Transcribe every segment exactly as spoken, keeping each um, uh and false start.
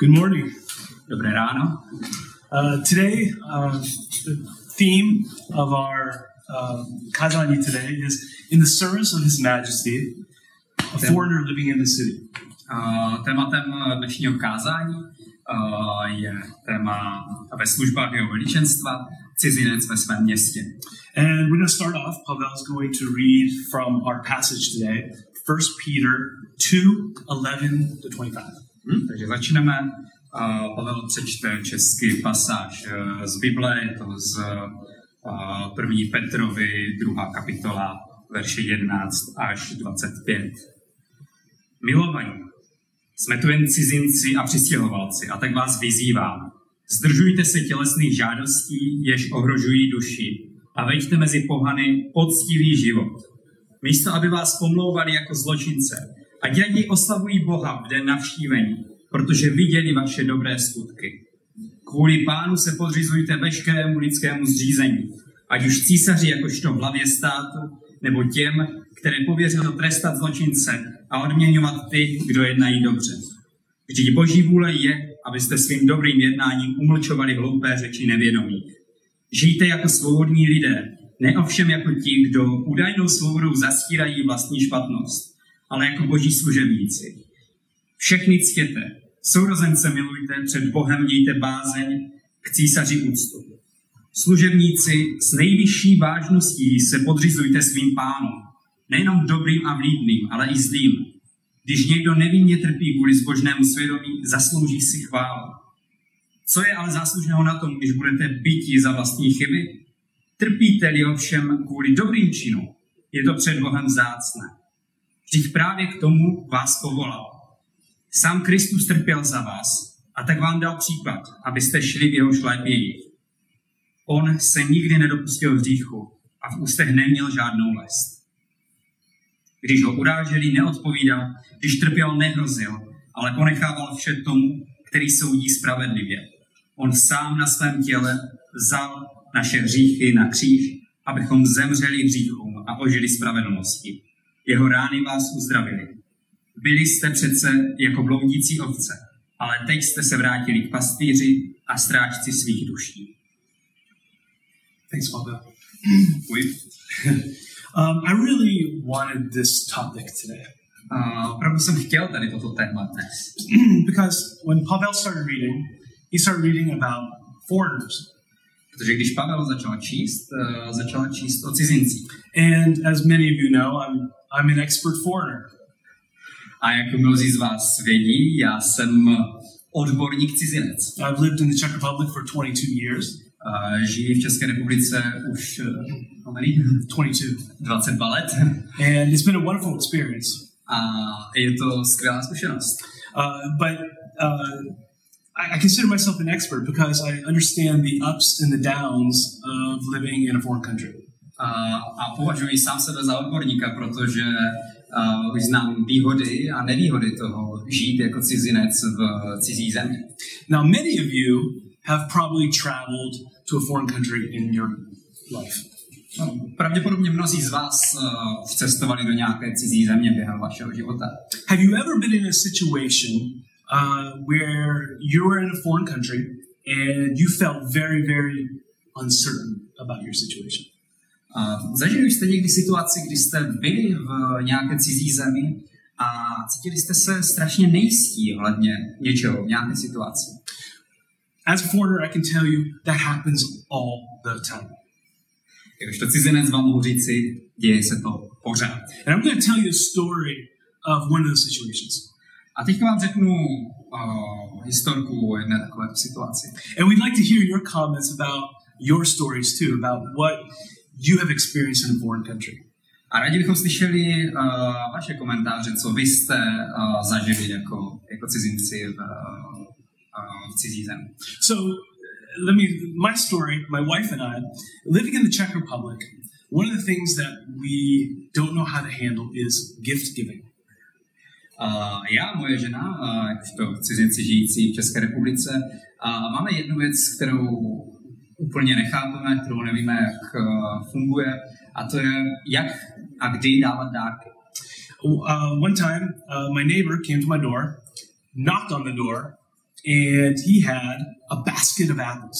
Good morning. Dobré ráno. Uh, today, uh, the theme of our uh, kazani today is in the service of His Majesty, a foreigner living in the city. Uh, tématem dnešního kázání uh, je téma ve službách jeho veličenstva, cizinec ve svém městě. And we're going to start off. Pavel is going to read from our passage today, First Peter two eleven to twenty-five. Hmm, takže začneme. Uh, Pavel přečte český pasáž uh, z Bible, je to z uh, první Petrovi, druhá kapitola, verše jedenáct až dvacet pět. Milovaní, jsme tu jen cizinci a přistěhovalci, a tak vás vyzývám. Zdržujte se tělesných žádostí, jež ohrožují duši, a veďte mezi pohany poctivý život. Místo, aby vás pomlouvali jako zločince, ať raději oslavují Boha v den navštívení, protože viděli vaše dobré skutky. Kvůli Pánu se podřizujte veškerému lidskému zřízení, ať už císaři jakožto v hlavě státu, nebo těm, které pověřil trestat zločince a odměňovat ty, kdo jednají dobře. Vždyť Boží vůle je, abyste svým dobrým jednáním umlčovali hloupé řeči nevědomých. Žijte jako svobodní lidé, ne ovšem jako ti, kdo údajnou svobodou zastírají vlastní špatnost, ale jako Boží služebníci. Všechny ctěte, sourozence milujte, před Bohem mějte bázeň, k císaři úctu. Služebníci s nejvyšší vážností se podřizujte svým pánům, nejenom dobrým a vlídným, ale i zlým. Když někdo nevinně trpí kvůli zbožnému svědomí, zaslouží si chválu. Co je ale záslužného na tom, když budete byti za vlastní chyby? Trpíte-li ovšem kvůli dobrým činům, je to před Bohem vzácné. Vždyť právě k tomu vás povolal. Sám Kristus trpěl za vás a tak vám dal příklad, abyste šli v jeho šlépěji. On se nikdy nedopustil hříchu a v ústech neměl žádnou lest. Když ho uráželi, neodpovídal, když trpěl, nehrozil, ale ponechával vše tomu, který soudí spravedlivě. On sám na svém těle vzal naše hříchy na kříž, abychom zemřeli hříchům a ožili spravedlnosti. Jeho rány vás uzdravili. Byli jste přece jako bloudící ovce, ale teď jste se vrátili k pastýři a strážci svých duší. Thanks, Pavel. um, I really wanted this topic today. Uh, opravdu jsem chtěl tady toto téma dnes. Because when Pavel started reading, he started reading about foreigners. Protože když Pavel začal číst, uh, začal číst o cizincích. And as many of you know, I'm I'm an expert foreigner. A jak mnozí z vás vědí, já jsem odborník cizinec. I've lived in the Czech Republic for twenty-two years. Uh, žijí v České republice už uh, dvacet dva let. And it's been a wonderful experience. A je to skvělá zkušenost. Uh, but uh, I, I consider myself an expert because I understand the ups and the downs of living in a foreign country. Uh, a považuji sám sebe za odborníka, protože uh, už znám výhody a nevýhody toho žít jako cizinec v cizí zemi. Now many of you have probably traveled to a foreign country in your life. No, pravděpodobně mnozí z vás uh, už cestovali do nějaké cizí země během vašeho života. Have you ever been in a situation uh, where you were in a foreign country and you felt very, very uncertain about your situation? Uh, zažili jste někdy situaci, kdy jste byli v nějaké cizí zemi a cítili jste se strašně nejistí ohledně něčeho, v nějaké situaci? As a foreigner, I can tell you that happens all the time. Jakožto cizinec vám mohu říci, děje se to pořád. And I'm going to tell you a story of one of those situations. A teď vám řeknu uh, historku o jedné takovéto situaci. And we'd like to hear your comments about your stories too, about what you have experienced in a foreign country. A rádi bychom slyšeli uh, vaše komentáře, co vy jste uh, zažili jako, jako cizinci v, uh, v cizí zemi. So, let me, my story, my wife and I, living in the Czech Republic, one of the things that we don't know how to handle is gift giving. Uh, já, moje žena, uh, jakožto cizinci žijící v České republice, uh, máme jednu věc, kterou úplně nechápeme, kterou nevíme, jak uh, funguje, a to je, jak a kdy dávat dárky. Uh, one time, uh, my neighbor came to my door, knocked on the door, and he had a basket of apples.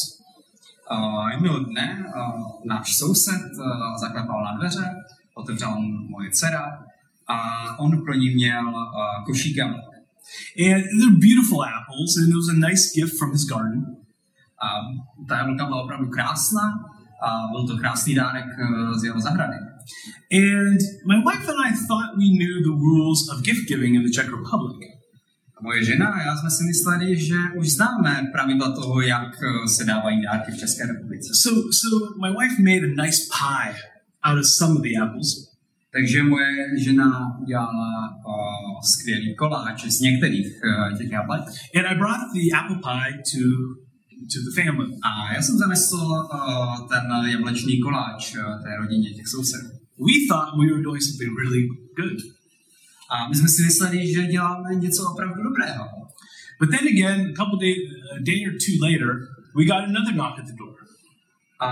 Uh, jednoho dne uh, náš soused uh, zaklepal na dveře, otevřela moje dcera a on pro ní měl uh, košík jablek. And they're beautiful apples, and it was a nice gift from his garden. A ta jablka byla opravdu krásná a byl to krásný dárek uh, z jeho zahrady. And my wife and I thought we knew the rules of gift giving in the Czech Republic. Moje žena a já jsme si mysleli, že už známe pravidla toho, jak se dávají dárky v České republice. So, so my wife made a nice pie out of some of the apples. Takže moje žena udělala uh, skvělý koláč z některých uh, těch jablek. And I brought the apple pie to, to the family. A já jsem zanesl uh, ten jablečný koláč uh, té rodině těch sousedů. We thought we were doing something really good. A my jsme si mysleli, že děláme něco opravdu dobrého. But then again, a couple day, a day or two later, we got another knock at the door. A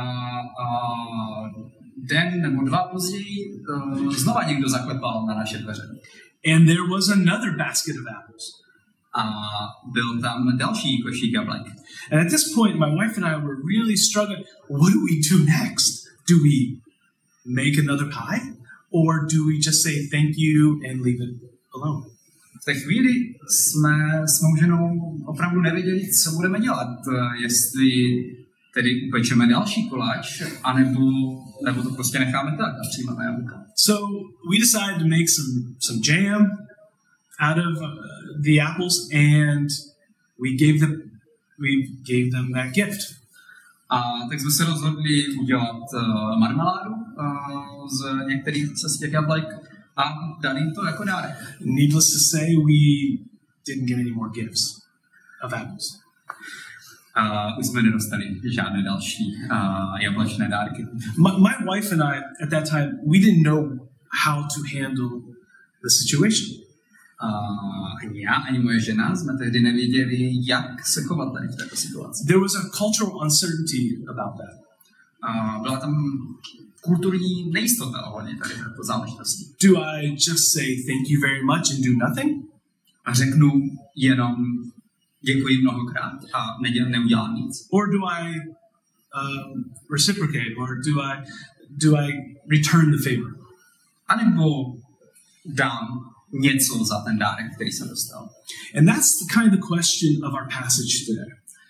uh, den nebo dva později uh, znova někdo zaklepal na naše dveře. And there was another basket of apples. A byl tam další košík jablek. And at this point, my wife and I were really struggling. What do we do next? Do we make another pie? Or do we just say thank you and leave it alone? V té chvíli jsme s mou ženou opravdu nevěděli, co budeme dělat. Jestli tedy upečeme další koláč, anebo, nebo to prostě necháme tak a přijmeme jablka. So we decided to make some, some jam out of uh, the apples, and we gave them, we gave them that gift. A tak jsme se rozhodli udělat uh, marmeládu uh, z některých z těch jablek a dali jim to jako dárek. Needless to say, we didn't get any more gifts of apples. Uh, už jsme nedostali žádné další uh, jablečné dárky. My, my wife and I, at that time, we didn't know how to handle the situation. Uh, ani já, ani moje žena jsme tehdy nevěděli, jak se chovat tady v této situaci. There was a cultural uncertainty about that. Uh, byla tam kulturní nejistota ohledně tady této záležitosti. Do I just say thank you very much and do nothing? A řeknu jenom děkuji mnohokrát a neděl, neudělám nic. Or do I um, reciprocate? Or do I do I return the favor? A nebo dám něco za ten dárek, který jsem dostal. And that's the kind of question of our passage today.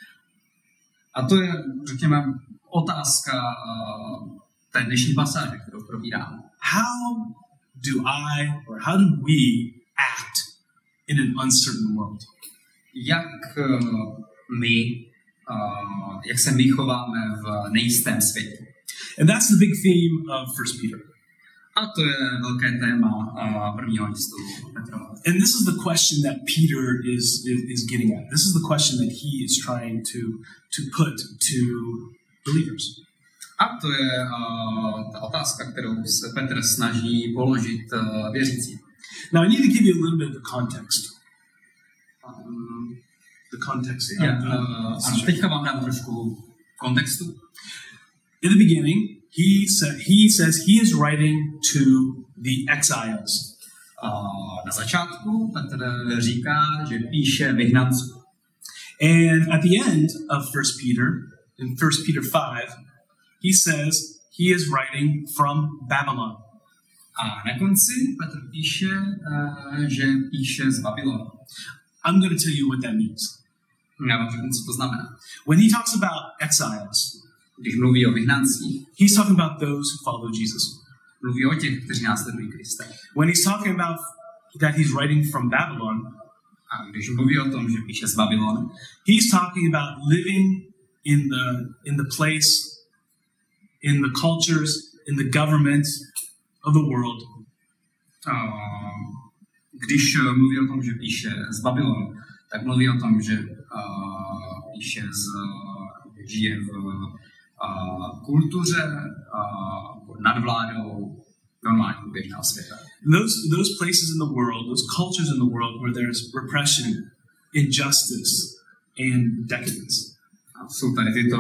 A to je, řekněme, otázka uh, té dnešní pasáže, kterou probíráme. How do I or how do we act in an uncertain world? Jak uh, my, uh, jak se my chováme v nejistém světě. And that's the big theme of First Peter. A to je velké téma uh, prvního listu Petrova. And this is the question that Peter is, is is getting at. This is the question that he is trying to to put to believers. A to je uh, ta otázka, kterou se Petr snaží položit uh, věřícím. Now I need to give you a little bit of the context. Um, The context. yeah, uh, a teďka vám dám trošku kontextu. In the beginning, he said he says he is writing to the exiles. Uh, na začátku Petr říká, že píše vyhnancům. And at the end of First Peter, in First Peter five, he says he is writing from Babylon. A na konci Petr píše, uh, že píše z Babylonu. I'm going to tell you what that means. Já vám řeknu, co to znamená. When he talks about exiles, Když mluví o vyhnancích, he's talking about those who follow Jesus. mluví o těch, kteří následují Krista. When he's talking about that he's writing from Babylon, A když mluví o tom, že píše z Babylonu, he's talking about living in the in the place, in the cultures, in the government of the world. uh, když mluví o tom, že píše z Babylonu, tak mluví o tom, že uh, píše z, žije v uh, kultuře, uh, nad vládou normálního běžného světa. Those those places in the world, those cultures in the world where there's repression, injustice, and decadence. A jsou tady tyto,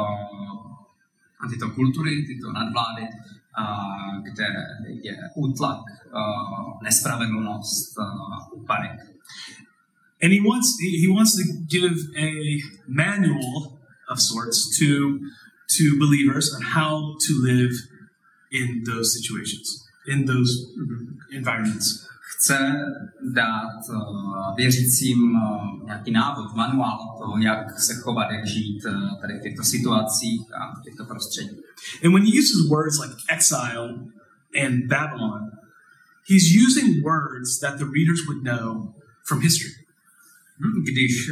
uh, tyto kultury, tyto nadvlády, uh, kde je útlak, uh, nespravedlnost, uh, úpadek. And he wants he, he wants to give a manual of sorts to to believers on how to live in those situations, in those environments. Chce dát uh, věřícím uh, nějaký návod, manuál toho, jak se chovat, jak žít uh, tady v těchto situacích a v těchto prostředích. And when he uses words like exile and Babylon, he's using words that the readers would know from history. Když uh,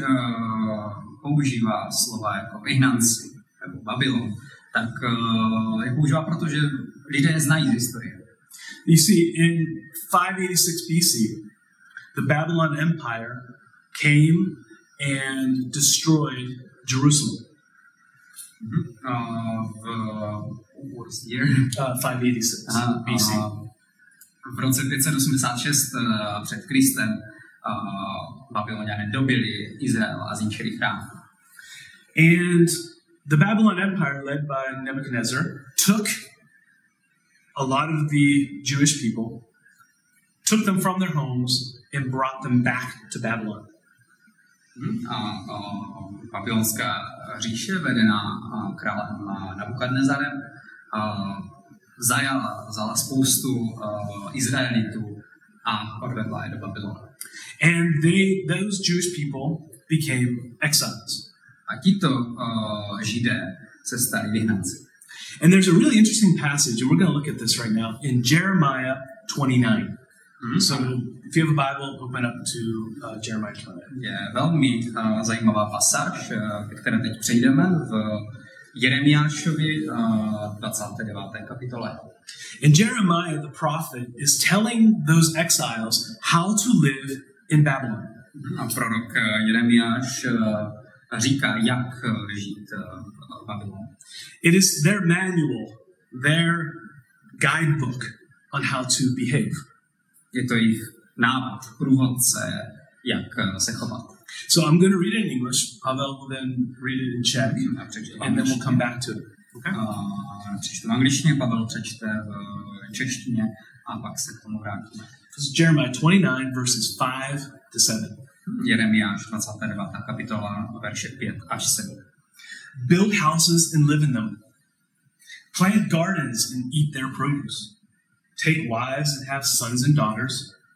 používá slova jako vyhnanci nebo Babylon, tak uh, je používá, protože lidé je znají z historie. You see, in five eighty-six B C, the Babylon Empire came and destroyed Jerusalem. Mm-hmm. Uh, v, what was the year? Uh, five eighty-six uh, B C. Uh, v roce pět set osmdesát šest uh, před Kristem uh, Babyloniané dobili Izrael a zničili chrám. And the Babylon Empire, led by Nebuchadnezzar, took a lot of the Jewish people, took them from their homes and brought them back to Babylon. A, a babylonská říše, vedená králem Nabukadnezarem, zajala, vzala spoustu uh, Izraelitů a odvedla je do Babylonu. And they, those Jewish people became exiles. A tito uh, Židé se stali vyhnanci. And there's a really interesting passage, and we're going to look at this right now, in Jeremiah twenty-nine. Mm-hmm. So if you have a Bible, open up to uh, Jeremiah twenty-nine. Je velmi uh, zajímavá pasáž, uh, které teď přejdeme v Jeremiášovi uh, dvacáté deváté kapitole. And Jeremiah, the prophet, is telling those exiles how to live in Babylon. Mm-hmm. A prorok uh, Jeremiáš uh, říká, jak uh, žít uh, v Babylonu. It is their manual, their guidebook on how to behave. Je to jejich návod, průvodce, jak se chovat. So I'm going to read it in English. Pavel will then read it in Czech, and then we'll come back to it. Okay? Uh, přečtu v angličtině, Pavel přečte v češtině a pak se k tomu vrátíme. This is Jeremiah twenty-nine, verses five to seven. Jeremiáš dvacátá devátá kapitola, verše pět až sedm. Build houses and live in them. Plant gardens and eat their produce. Take wives and have sons and daughters.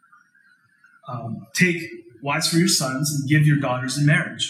Um, take wives for your sons and give your daughters in marriage,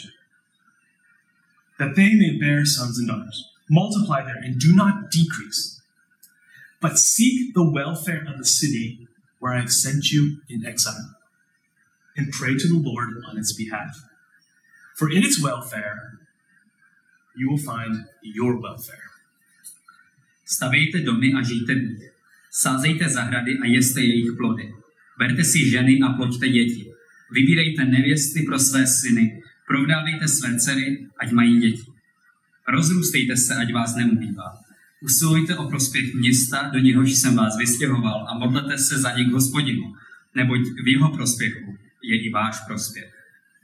that they may bear sons and daughters. Multiply there and do not decrease, but seek the welfare of the city where I have sent you in exile, and pray to the Lord on its behalf. For in its welfare you will find your welfare. Stavejte domy a žijte v nich. Sázejte zahrady a jeste jejich plody. Berte si ženy a ploďte děti. Vybírejte nevěsty pro své syny. Provdávejte své dcery, ať mají děti. Rozrůstejte se, ať vás neubývá. Usilujte o prospěch města, do něhož jsem vás vystěhoval, a modlete se za ně k Hospodinu, neboť v jeho prospěchu je i váš prospěch.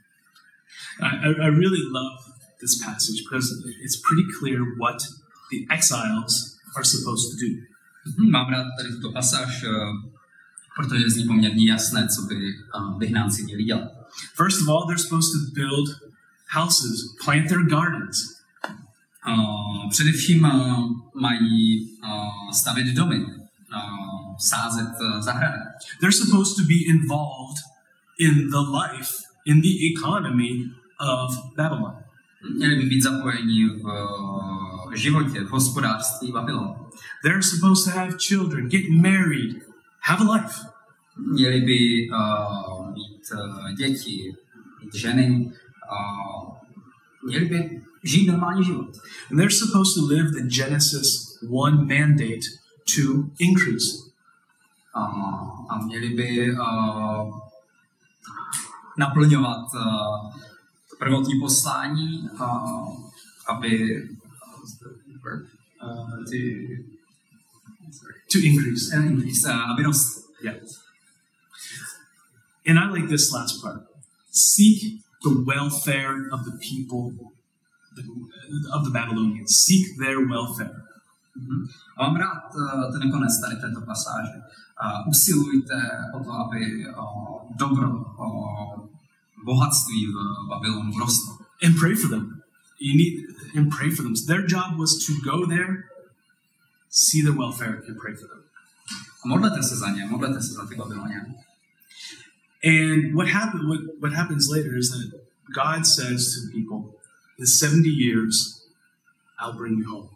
I, I really love this passage because it's pretty clear what the exiles are supposed to do. Mám rád tady tuto pasáž, protože zní poměrně jasné, co by vyhnánci měli dělat. First of all, they're supposed to build houses, plant their gardens. Uh, především uh, mají uh, stavět domy, uh, sázet uh, zahrady. They're supposed to be involved in the life, in the economy of Babylon. Měli by být zapojeni v uh, životě, v hospodářství Babylonu. They're supposed to have children, get married, have a life. Měli by uh, mít uh, děti, mít ženy, uh, měli by žít normální život. And they're supposed to live the Genesis one mandate to increase. Uh, a měli by uh, naplňovat uh, prvotní poslání, uh, aby uh, to, to increase. Uh, increase uh, aby rost. Yeah. And I like this last part. Seek the welfare of the people of the Babylonians. Seek their welfare. Mm-hmm. A mám rád uh, ten konec tady této pasáže. Uh, usilujte o to, aby uh, dobro uh, bohatství v Babylonu rostlo. And pray for them. You need and pray for them. So their job was to go there, see their welfare, and pray for them. A modlete se za ně, modlete se za ty Babyloniany. And what happened? What, what happens later is that God says to the people, "In seventy years, I'll bring you home."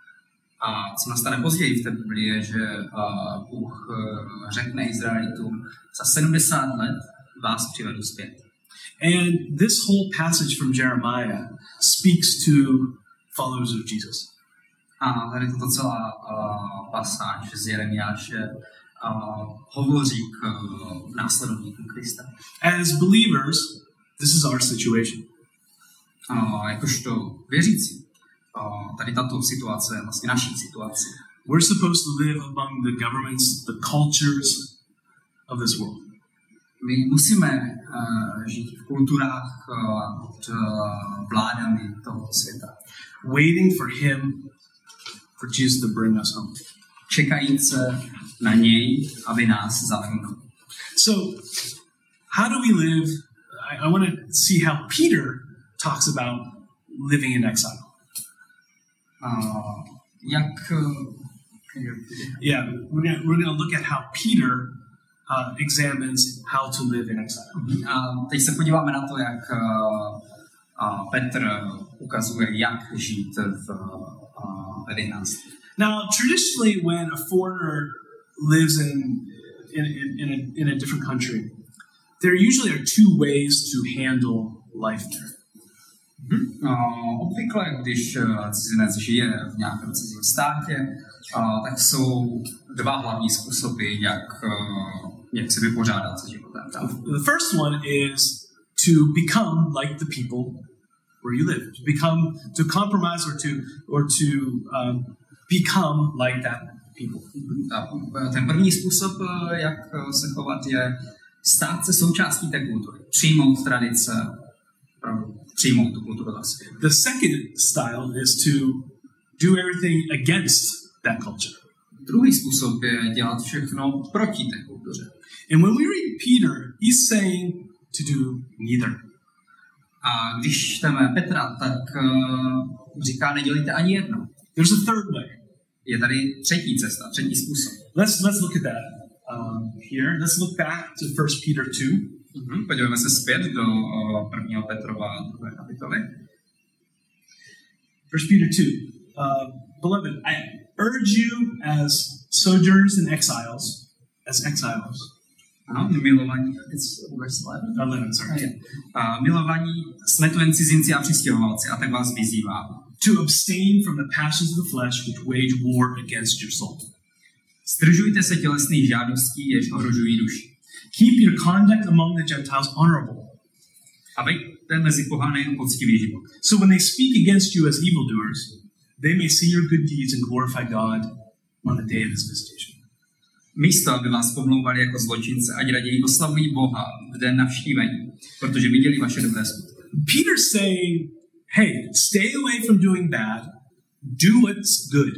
A co nastane později v té Biblii je, že uh, Bůh uh, řekne Izraelitům, za sedmdesát let vás přivedu zpět. And this whole passage from Jeremiah speaks to followers of Jesus. A tady tato celá uh, pasáž z Jeremiáše uh, hovoří k uh, následovníkům Krista. As believers, this is our situation. Uh, jakožto věřící, uh, tady tato situace je vlastně naší situací. We're supposed to live among the governments, the cultures of this world. My musíme uh, žít v kulturách uh, pod uh, vládami tohoto světa. Waiting for him, for Jesus to bring us home. Čekajíce na něj, aby nás zavrhnul. So, how do we live? I, I want to see how Peter talks about living in exile. Uh, jak... Uh, yeah, we're gonna, we're gonna look at how Peter uh, examines how to live in exile. A teď se podíváme na to, jak uh, uh, Petr ukazuje, jak žít v uh, vyhnanství. Now, traditionally, when a foreigner lives in in, in, in, a, in a different country, there usually are two ways to handle life there. Mm-hmm. Uh, obvykle, když uh, cizinec žije v nějakém cizím státě, uh, tak jsou dva hlavní způsoby, jak, uh, jak se vypořádat se životem. The first one is to become like the people where you live, to become, to compromise or to or to um, become like that people. A ten první způsob, jak se chovat, je stát se součástí té kultury, přijmout tradice, přijmout tu kulturu za sebe. The second style is to do everything against that culture. Druhý způsob je dělat všechno proti té kultuře. And when we read Peter, he's saying to do neither. A když čteme Petra, tak uh, říká, nedělejte ani jedno. There's a third way. Je tady třetí cesta, třetí způsob. Let's let's look at that um, here. Let's look back to First Peter two. Mm-hmm. Podívejme se zpět do uh, prvního Petrova druhé kapitoly. First Peter two. Uh, beloved, I urge you as sojourners and exiles, as exiles. Ano, milovaní, it's verse eleven. eleven, sorry. Uh, milovaní, jsme tu jen cizinci a přistěhovalci, a tak vás vyzývám. To abstain from the passions of the flesh which wage war against your soul. Zdržujte se tělesných žádostí, jež ohrožují duši. Keep your conduct among the Gentiles honorable. A veďte mezi pohany poctivý život. So when they speak against you as evildoers, they may see your good deeds and glorify God on the day of his visitation. Místo, aby vás pomlouvali jako zločince, ať raději oslavují Boha v den navštívení, protože viděli vaše dobré skutky. Peter's saying, hey, stay away from doing bad, do what's good.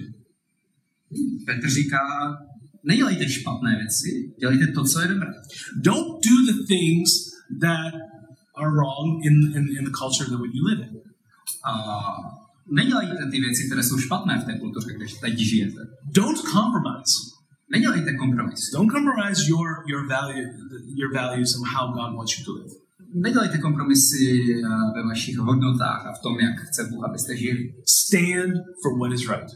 Petr říká, nedělejte špatné věci, dělejte to, co je dobré. Don't do the things that are wrong in, in, in the culture that you live in. A nedělejte ty věci, které jsou špatné v té kultuře, kde teď žijete. Don't compromise. Nedělejte kompromis. Don't compromise your, your, value, your values and how God wants you to live. Nedělejte kompromisy ve vašich hodnotách a v tom, jak chce Bůh, abyste žili. Stand for what is right.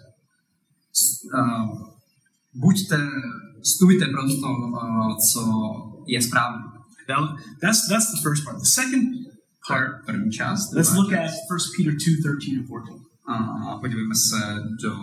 Uh, buďte, stůjte pro to, uh, co je správné. Now, that's, that's the first part. The second part, první část. Let's look at First Peter two, thirteen and fourteen. A podívejme se do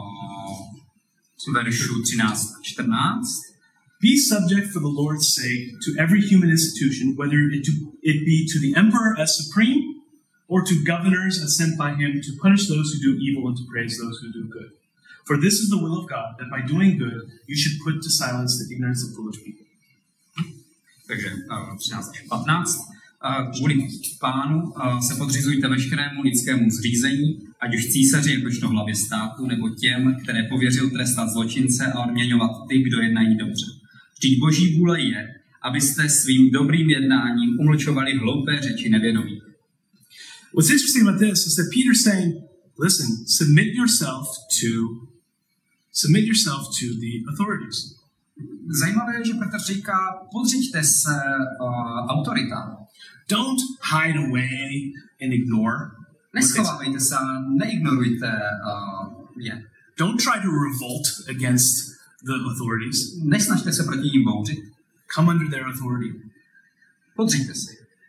uh, veršů třináct a čtrnáct. Be subject for the Lord's sake to every human institution, whether it, to, it be to the emperor as supreme, or to governors as sent by him to punish those who do evil and to praise those who do good. For this is the will of God, that by doing good you should put to silence the ignorance of foolish people. Takže uh, třináct až patnáct. Uh, kvůli Pánu uh, se podřizujte veškerému lidskému zřízení, ať už císaři jakožto hlavě státu, nebo těm, které pověřil trestat zločince a odměňovat ty, kdo jednají dobře. Vždyť Boží vůle je, abyste svým dobrým jednáním umlčovali hloupé řeči nevědomých. What's interesting about this is that Peter's saying, listen, submit yourself to submit yourself to the authorities. Zajímavé je, že Petr říká, podřiďte se uh, autoritám. Don't hide away and ignore. Neschovávejte se, neignorujte uh, je. Don't try to revolt against the authorities. Nesnažte se proti nim bouřit. Come under their authority. Podřiďte se.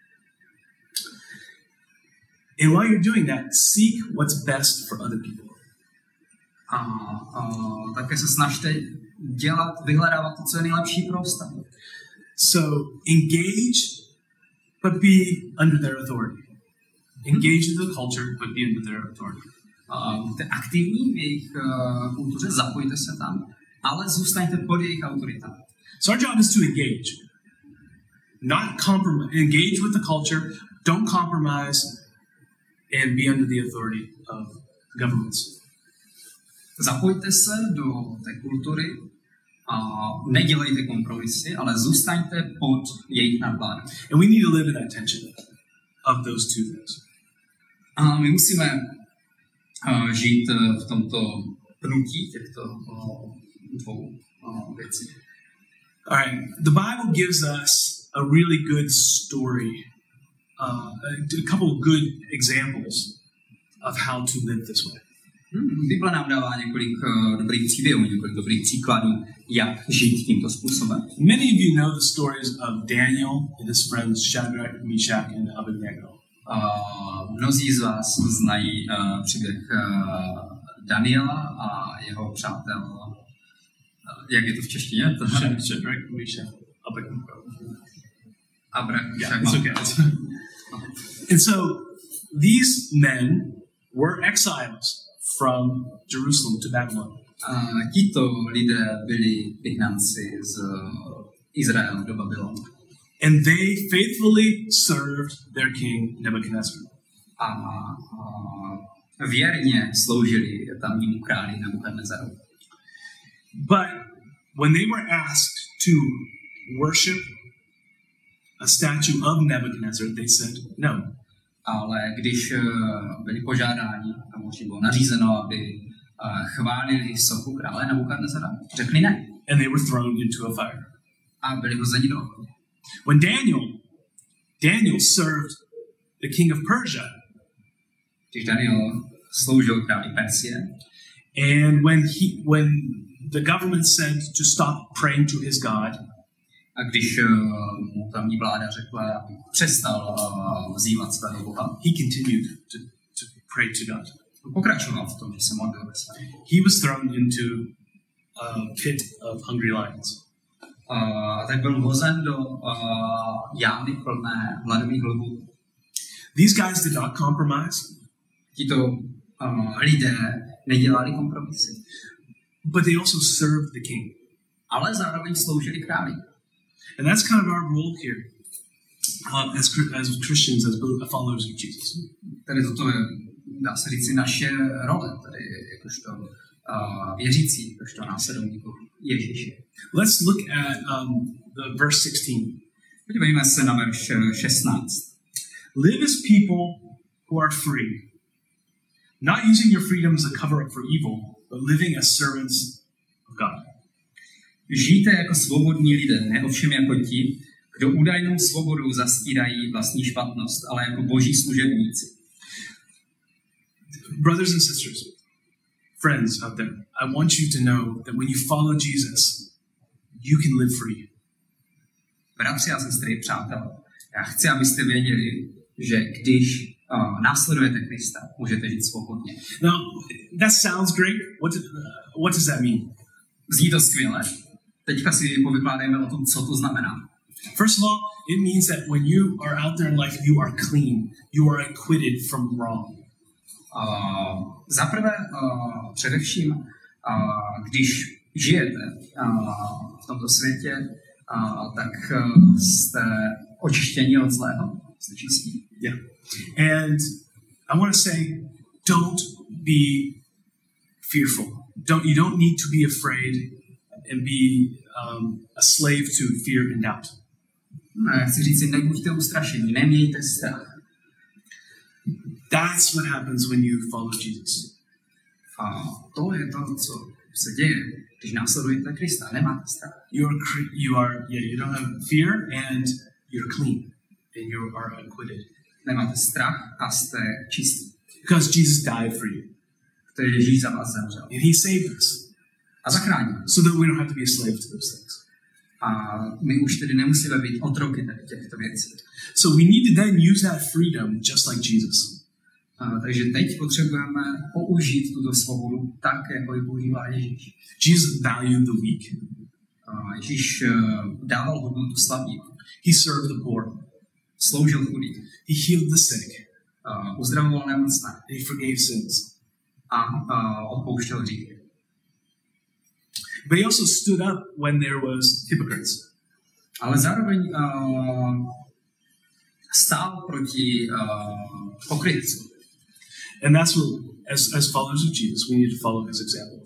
And while you're doing that, seek what's best for other people. A, a také se snažte dělat, vyhledávat to, co je nejlepší pro ostatní. So engage, but be under their authority. Engage in the culture, but be under their authority. Uh, buďte aktivní v jejich uh, kultuře, zapojte se tam, ale zůstaňte pod jejich autoritou. So our job is to engage. Not compromise. Engage with the culture, don't compromise, and be under the authority of governments. Zapojte se do té kultury a nedělejte kompromisy, ale zůstaňte pod jejich nadvládou. And we need to live in that tension of those two things. A my musíme uh, žít uh, v tomto pnutí těchto uh, dvou uh, věcí. All right. The Bible gives us a really good story, uh, a couple of good examples of how to live this way. Hmm, Bible nám dává několik uh, dobrých příběhů, několik dobrých příkladů, jak žít tímto způsobem. Many of you know the stories of Daniel and his friends Shadrach, Meshach, and Abednego. Uh, mnozí z vás znají uh, příběh uh, Daniela a jeho přátel. Uh, jak je to v češtině? Shadrach, Meshach, Abednego. Abrach, Yeah, it's okay. And so these men were exiles from Jerusalem to Babylon. Uh, tito lidé byli vyhnanci z uh, Izraele do Babylonu. And they faithfully served their king Nebuchadnezzar. A uh, věrně sloužili tamnímu králi Nebukadnezaru. But when they were asked to worship a statue of Nebuchadnezzar, they said no. Ale když uh, byli požádáni, tomu bylo nařízeno, aby uh, chválili sochu krále Nebukadnezara, řekli ne. And they were thrown into a fire. A byli hozeni do ohně. When Daniel, Daniel served the king of Persia. Když Daniel sloužil králi Persie. And when he, when the government said to stop praying to his God. A když uh, mu tamní vláda řekla, aby přestal uh, vzývat svého Boha, he continued to, to pray to God. Pokračoval v tom, že se modlil ve své. He was thrown into a pit of hungry lions. Uh, tak byl hozen do uh, jámy plné hladových lvů. These guys did not compromise. Tito uh, lidé nedělali kompromisy. But they also served the king. Ale zároveň sloužili králi. And that's kind of our role here um, as, as Christians, as followers of Jesus. Tady toto je, dá se říct, naše role, tady jakožto uh, věřící, jakožto následovníků Ježíše. Let's look at um, the verse sixteen. Podívejme se na verš šestnáct. Live as people who are free, not using your freedom as a cover-up for evil, but living as servants of God. Žijte jako svobodní lidé, ne ovšem jako ti, kdo údajnou svobodou zastírají vlastní špatnost, ale jako boží služebníci. Brothers and sisters, friends out there, I want you to know that when you follow Jesus, you can live free. Bratři a sestry, přátelé, já chci, abyste věděli, že když uh, následujete Krista, můžete žít svobodně. Now, that sounds great. What, do, uh, what does that mean? Zní to skvěle. Teďka si povykládejme o tom, co to znamená. First of all, it means that when you are out there in life, you are clean. You are acquitted from wrong. Uh, Za prvé, uh, především, uh, když žijete uh, v tomto světě, uh, tak uh, jste očištěni od zlého, jste čistí. Yeah. And I want to say, don't be fearful. Don't you don't need to be afraid and be um, a slave to fear and doubt. Ne, chci říct si, nebuďte ustrašení, nemějte strach. That's what happens when you follow Jesus. A to je to, co se děje, když následujete Krista, nemáte strach. You are, you are, yeah, you don't have fear and you're clean and you are acquitted. Nemáte strach a jste čistí. Because Jesus died for you. To je Ježíš za vás zemřel. And he saved us. A zachránil. So that we don't have to be a slave to those things. A my už tedy nemusíme být otroky těchto věcí. So we need to then use that freedom just like Jesus. A, takže teď potřebujeme použít tuto svobodu tak, jako ji používá Ježíš. Jesus valued the weak. A Ježíš uh, dával hodnotu slabým. He served the poor. Sloužil chudým. He healed the sick. Uh, uzdravoval nemocné. And he forgave sins. A uh, odpouštěl hříchy. But he also stood up when there was hypocrites. Ale zároveň uh, stál proti uh, pokrytcům. And that's what, as, as followers of Jesus, we need to follow his example.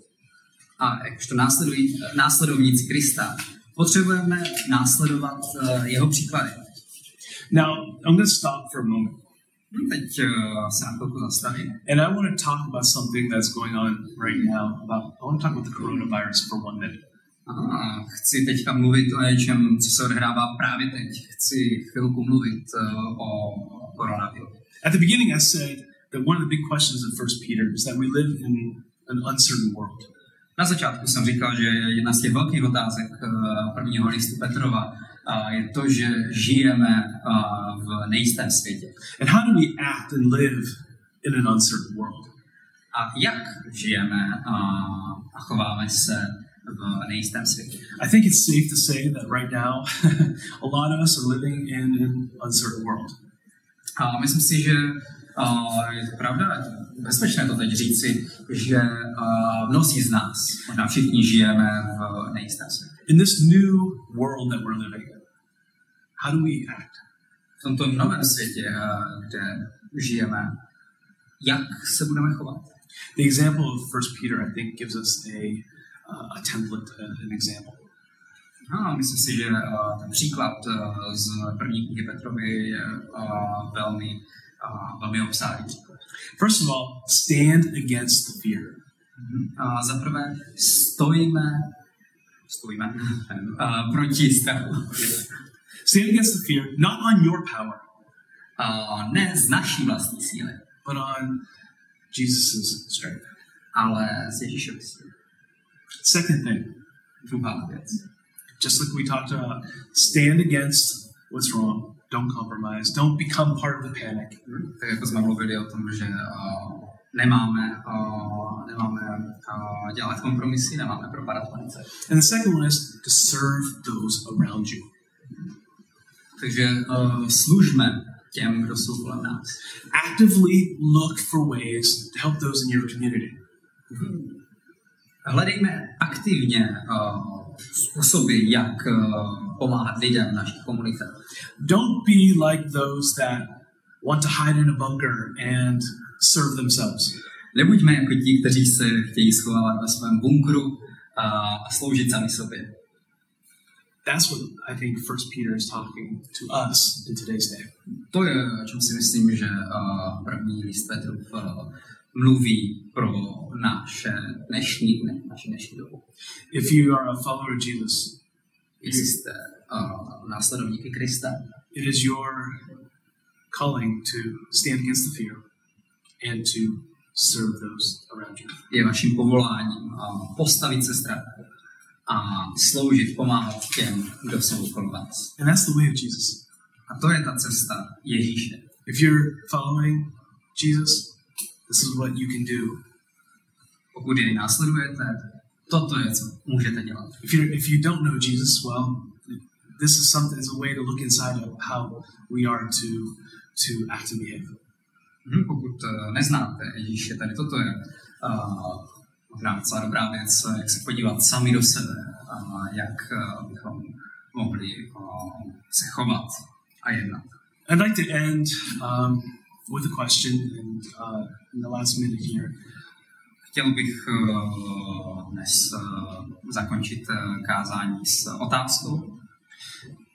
A jakožto následovníci Krista potřebujeme následovat uh, jeho příklady. Now, I'm going to stop for a moment. Teď uh, se na chvilku zastavím. And I want to talk about something that's going on right now. About I want to talk about the coronavirus for one minute. Aha, chci teďka mluvit o něčem, co se odehrává právě teď. Chci chvilku mluvit uh, o koronaviru. At the beginning I said that one of the big questions in First Peter is that we live in an uncertain world. Na začátku jsem říkal, že jedna z těch velkých otázek uh, prvního listu Petrova uh, je to, že žijeme uh, v nejistém světě. And how do we act and live in an uncertain world? A jak žijeme uh, a chováme se v nejistém světě? I think it's safe to say that right now a lot of us are living in an uncertain world. A myslím si, že uh, je to pravda, je to bezpečné to teď říci, že uh, mnozí z nás, možná všichni žijeme v nejistém světě. In this new world that we're living in, how do we act? V tomto novém světě, uh, kde žijeme, jak se budeme chovat? The example of First Peter, I think, gives us a uh, a template, uh, an example. No, myslím si, že uh, ten příklad uh, z první knihy Petrovy je uh, velmi, uh, velmi obsáhlý příklad. First of all, stand against the fear. Uh, za prvé, stojíme, stojíme uh, proti strachu. Stand against the fear, not on your power, Uh, ne z naší vlastní síly, but on Jesus' strength. ale z Ježíšovy síly. Second thing, Druhá věc. just like we talked about, stand against what's wrong. Don't compromise. Don't become part of the panic. Tak jako jsme mluvili o tom, že uh, nemáme, uh, nemáme uh, dělat kompromisy, nemáme propadat panice. And the second one is to serve those around you. Takže uh, služme těm, kdo jsou kolem nás. Actively look for ways to help those in your community. Hledejme aktivně uh, způsoby, jak uh, pomáhat lidem v našich komunitách. Don't be like those that want to hide in a bunker and serve themselves. Nebuďme jako ti, kteří se chtějí schovávat ve svém bunkru uh, a sloužit sami sobě. That's what I think First Peter is talking to us in today's day. To je, o čem si myslím, že uh, první list Petrův uh, mluví pro naše dnešní dny, naše dnešní dobu. If you are a follower of Jesus, Jestli jste uh, následovníky Krista, it is your calling to stand against the fear and to serve those around you. je vaším povoláním uh, postavit se strachu a sloužit, pomáhat těm, kdo jsou okolo vás. And that's the way of Jesus. A to je ta cesta Ježíše. If you're following Jesus, this is what you can do. Pokud jej následujete, toto je, co můžete dělat. If you if you don't know Jesus, well, this is something. It's a way to look inside of how we are to to act and behave. Hmm, pokud uh, neznáte Ježíše, tady toto je uh, možná docela dobrá věc, jak se podívat sami do sebe a jak uh, bychom mohli uh, se chovat a jednat. I'd like to end um, with a question and uh, in the last minute here. Chtěl bych uh, dnes uh, zakončit uh, kázání s otázkou.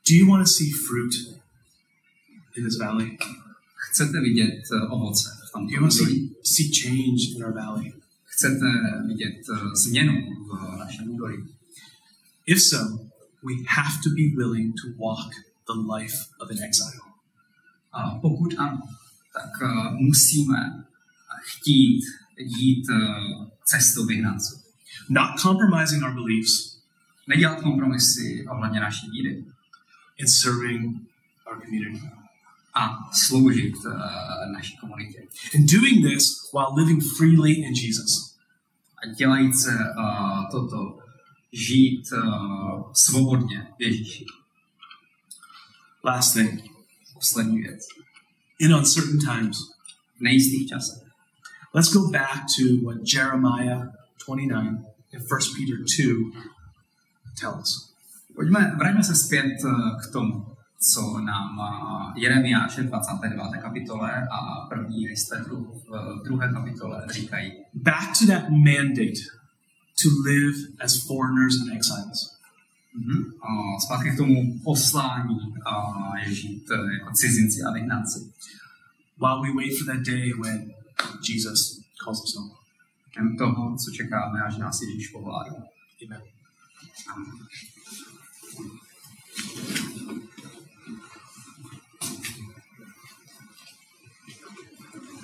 Do you want to see fruit in this valley? Chcete vidět uh, ovoce v tomto Do you want to see, údolí? see change in our valley? Chcete vidět uh, změnu v našem údolí? If so, we have to be willing to walk the life of an exile. A pokud ano, tak uh, musíme chtít jít uh, cestou vyhnanců. Not compromising our beliefs Nedělat kompromisy ohledně naší víry in serving our community. a sloužit uh, naší komunitě. And doing this while living freely in Jesus. A dělajíc se uh, toto, žít uh, svobodně v Ježíši. Last thing, Poslední věc. in uncertain times, V nejistých časech. let's go back to what Jeremiah twenty-nine and First Peter two tell us. Pojďme, vraťme se zpět uh, k tomu, co nám uh, Jeremiáš v dvacáté deváté kapitole a první list Petru v druhé kapitole říkají. Back to that mandate to live as foreigners and exiles. Mm-hmm. Uh, zpátky k tomu poslání uh, je žít uh, jako cizinci a vyhnanci. While we wait for that day when Jesus calls us home. Jen toho, co čekáme, až nás Ježíš povolá. Amen. Amen.